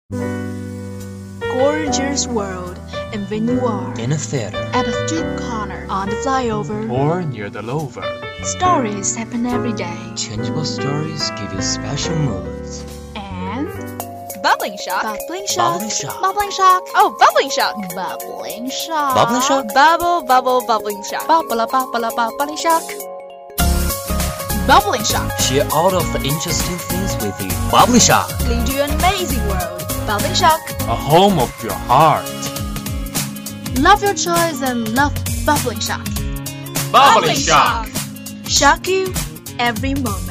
Gorgeous world, and when you are in a theater, at a street corner, on the flyover, or near the lover, stories happen every day. changeable stories give you special moods. And Bubbling shock. bubbling shock, Bubbling shock. bubbling shock, Oh, bubbling shock. bubbling shock, Bubbling shock. Bubble, bubbling shock. bubbling shock, bubbling shock. Share all of the interesting things with you. Bubbling shock. Lead you an amazing world. Bubbling shock. a home of your heart. Love your choice and love bubbling shock. Bubbling shock. Shock you every moment.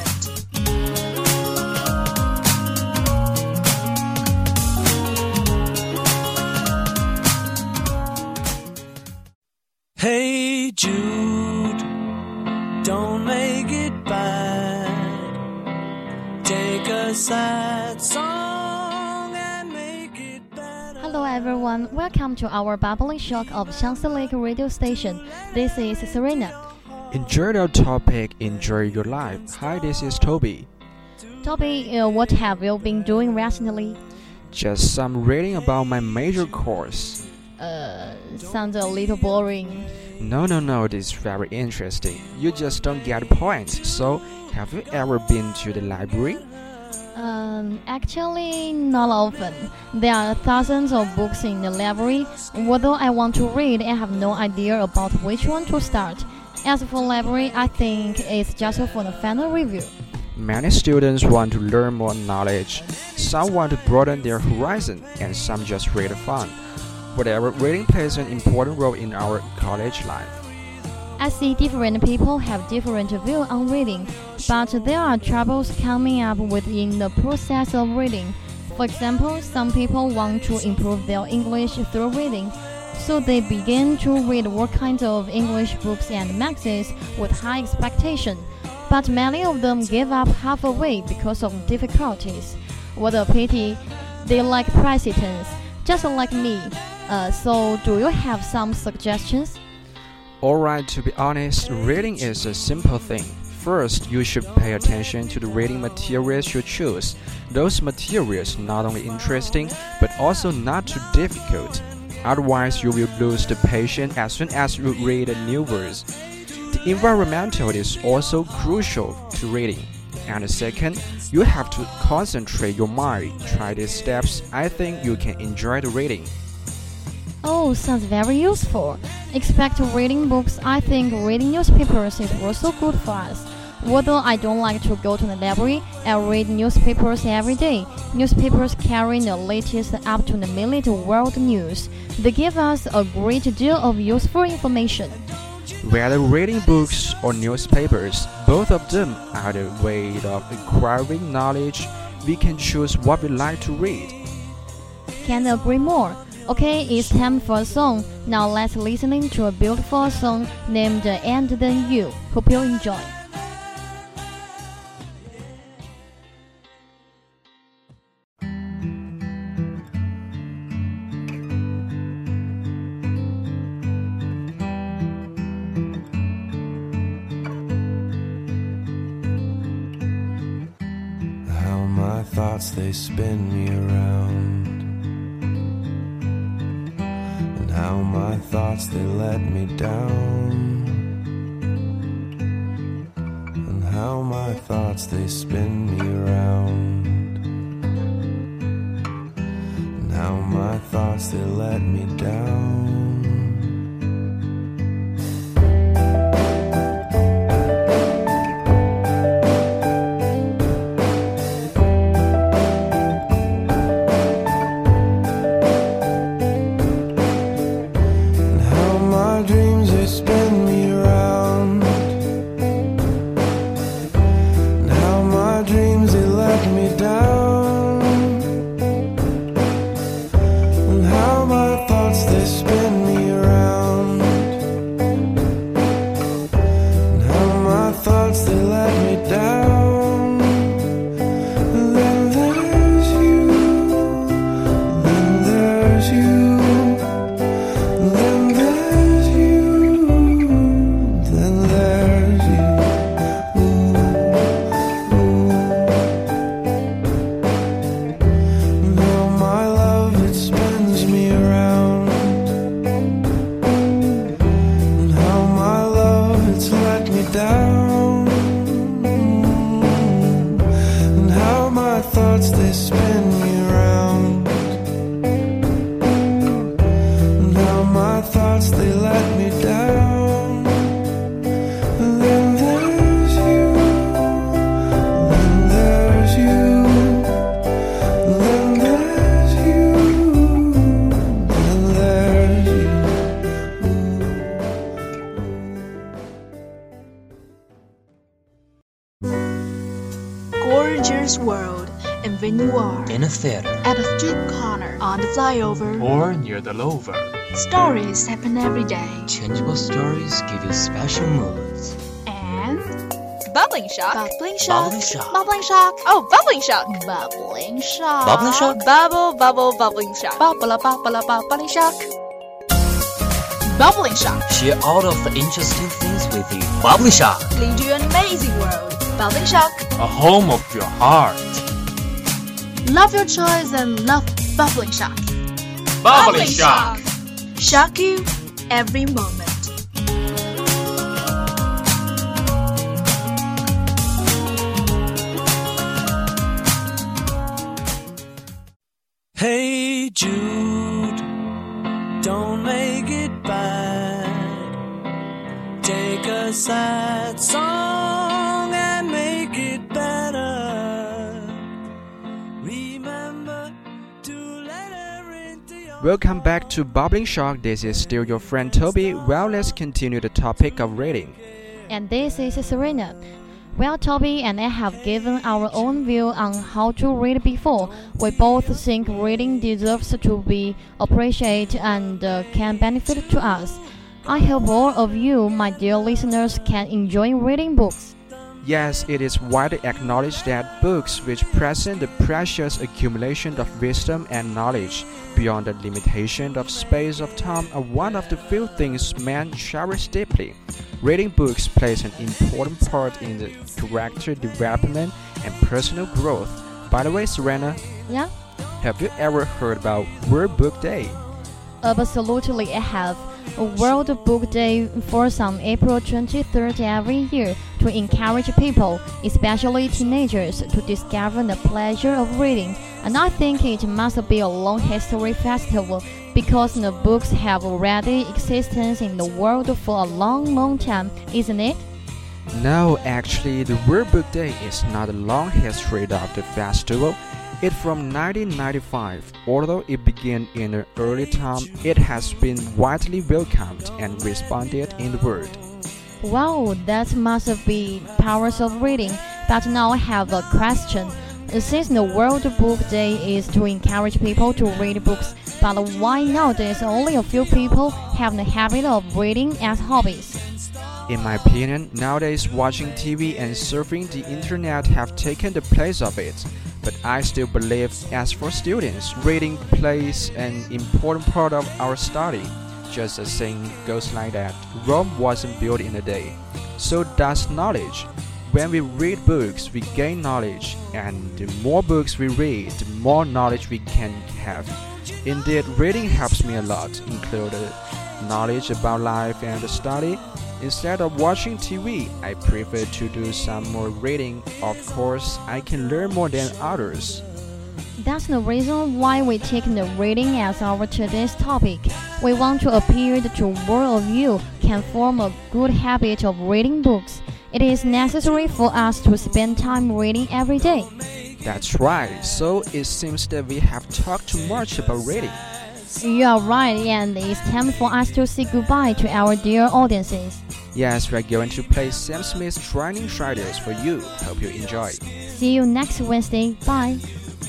Hey Jude, don't make it bad. Take a sad song and make it better. Hello everyone, welcome to our Bubbling Shock of Shanxi Lake radio station. This is Serena. Enjoy your topic, enjoy your life. Hi, this is Toby. Toby, what have you been doing recently? Just some reading about my major course. Sounds a little boring. No, this is very interesting. You just don't get points. So, have you ever been to the library? Actually, not often. There are thousands of books in the library. Although I want to read, I have no idea about which one to start. As for library, I think it's just for the final review. Many students want to learn more knowledge. Some want to broaden their horizon, and some just read for fun. Whatever, reading plays an important role in our college life. I see different people have different view on reading, but there are troubles coming up within the process of reading. For example, some people want to improve their English through reading, so they begin to read all kinds of English books and magazines with high expectation. But many of them give up halfway because of difficulties. What a pity! They lack persistence, just like me. So do you have some suggestions? Alright, to be honest, reading is a simple thing. First, you should pay attention to the reading materials you choose. Those materials not only interesting, but also not too difficult. Otherwise, you will lose the patience as soon as you read a new verse. The environmental is also crucial to reading. And second, you have to concentrate your mind. Try these steps. I think you can enjoy the reading. Oh, sounds very useful. Except reading books, I think reading newspapers is also good for us. Although I don't like to go to the library, I read newspapers every day. Newspapers carry the latest up-to-the-minute world news. They give us a great deal of useful information. Whether reading books or newspapers, both of them are the way of acquiring knowledge. We can choose what we like to read. Can't agree more. Okay, it's time for a song. Now let's listen to a beautiful song named And Then You. Hope you enjoy. How my thoughts they spin me around, and how my thoughts they let me down, and how my thoughts they spin me around, and how my thoughts they let me down. Spin theater. At a street corner, on the flyover. Or near the lover. Stories happen every day. Changeable stories give you special moods. And Bubbling shock. bubbling shock. Bubbling shock. Bubbling shock. Oh, bubbling shock. Bubbling shock. Bubbling shock. Bubble, bubbling shock. Bubbling shock. Bubbling shock. Share all of the interesting things with you. Bubbling shock. Lead you an amazing world. Bubbling shock. A home of your heart. Love your choice and love bubbling shock. Bubbling shock. Shock you every moment. Hey Jude, don't make it bad. Take a sad song and make it better. Remember to let her into your... Welcome back to Bubbling Shock. This is still your friend Toby. Well, let's continue the topic of reading. And this is Serena. Well, Toby and I have given our own view on how to read before. We both think reading deserves to be appreciated and can benefit to us. I hope all of you, my dear listeners, can enjoy reading books. Yes, it is widely acknowledged that books which present the precious accumulation of wisdom and knowledge beyond the limitation of space of time are one of the few things men cherish deeply. Reading books plays an important part in the character development and personal growth. By the way, Serena, Yeah? have you ever heard about World Book Day? Absolutely, I have. A World Book Day falls on April 23rd every year to encourage people, especially teenagers, to discover the pleasure of reading. And I think it must be a long history festival because the books have already existed in the world for a long time, isn't it? No, actually, the World Book Day is not a long history of the festival. It's from 1995. Although it began in an early time, it has been widely welcomed and responded in the world. Wow, that must be powers of reading. But now I have a question. Since the World Book Day is to encourage people to read books, but why nowadays only a few people have the habit of reading as hobbies? In my opinion, nowadays watching TV and surfing the internet have taken the place of it. But I still believe, as for students, reading plays an important part of our study. Just as saying goes like that, Rome wasn't built in a day. So does knowledge. When we read books, we gain knowledge, and the more books we read, the more knowledge we can have. Indeed, reading helps me a lot, including knowledge about life and the study. Instead of watching TV, I prefer to do some more reading. Of course, I can learn more than others. That's the reason why we take the reading as our today's topic. We want to appeal to more of you can form a good habit of reading books. It is necessary for us to spend time reading every day. That's right, so it seems that we have talked too much about reading. You are right, and it's time for us to say goodbye to our dear audiences. Yes, we're going to play Sam Smith's Training Shadows for you. Hope you enjoy. See you next Wednesday. Bye.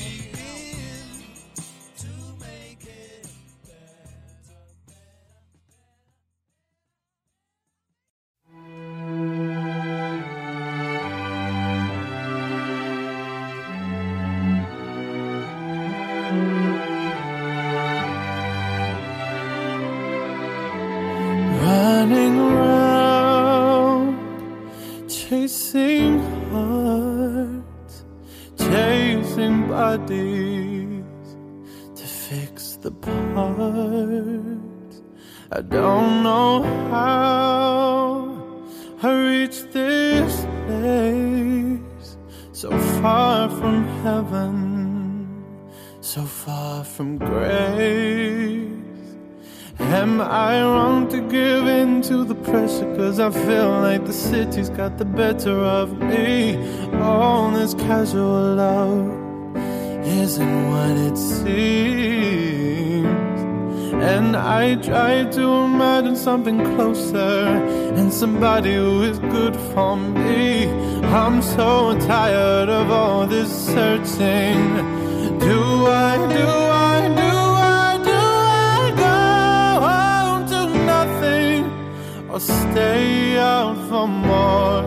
Running around, chasing hearts, chasing bodies to fix the parts. I don't know how I reached this place, so far from heaven, so far from grace. Am I wrong to give in to the pressure? Cause I feel like the city's got the better of me. All this casual love isn't what it seems. And I try to imagine something closer and somebody who is good for me. I'm so tired of all this searching. Do Stay out for more,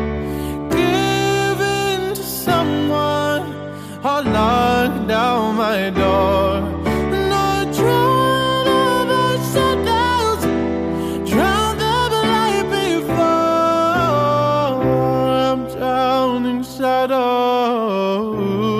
give in to someone, or lock down my door. No drown of my shadows, drown them like before. I'm drowning shadows.